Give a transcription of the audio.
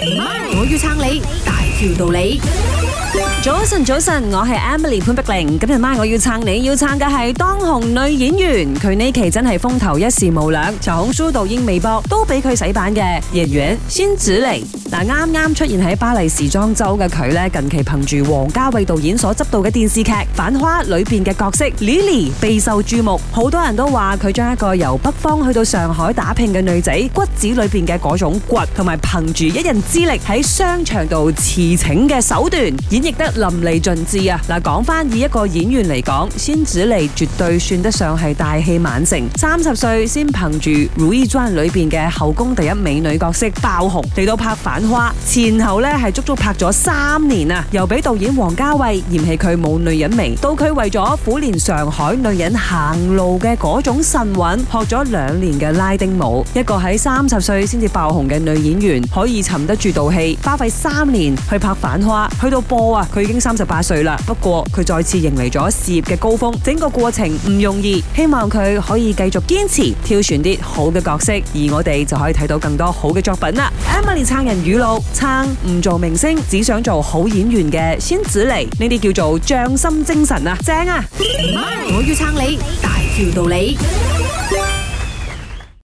我要撐你，大條道理。 早晨，我係 Emily 潘碧玲。今日晚我要撐你，要撐嘅係當紅女演員，佢呢期真係風頭一時無兩，小紅書、抖音、微博都俾佢洗版嘅演員辛芷蕾。啱啱出現喺巴黎時裝周嘅佢呢，近期憑住王家衛導演所執導嘅電視劇《繁花》裏邊嘅角色 Lily 備受注目，好多人都話佢將一個由北方去到上海打拼嘅女仔骨子裏邊嘅嗰種倔，同埋憑住一人之力喺商場度馳騁嘅手段演繹得淋漓盡致啊！講翻以一個演員嚟講，辛芷蕾絕對算得上係大器晚成，30歲先憑住《如懿傳》裏邊嘅後宮第一美女角色爆紅，嚟到拍《繁花》前後呢係足足拍咗3年啊！由俾導演王家衛嫌棄佢冇女人味，到佢為咗苦練上海女人行路嘅嗰種神韻，學咗2年嘅拉丁舞。一個喺30歲先至爆紅嘅女演員，可以沉得住道氣，花費3年去拍《繁花》，去到播啊，佢已經38歲啦。不過佢再次迎嚟咗事業嘅高峰，整個過程唔容易，希望佢可以繼續堅持，挑選啲好嘅角色，而我哋就可以睇到更多好嘅作品啦。Emily 撐人語錄，撐唔做明星，只想做好演員嘅辛芷蕾，呢啲叫做匠心精神啊，正啊！ 我要撐你，大條道理。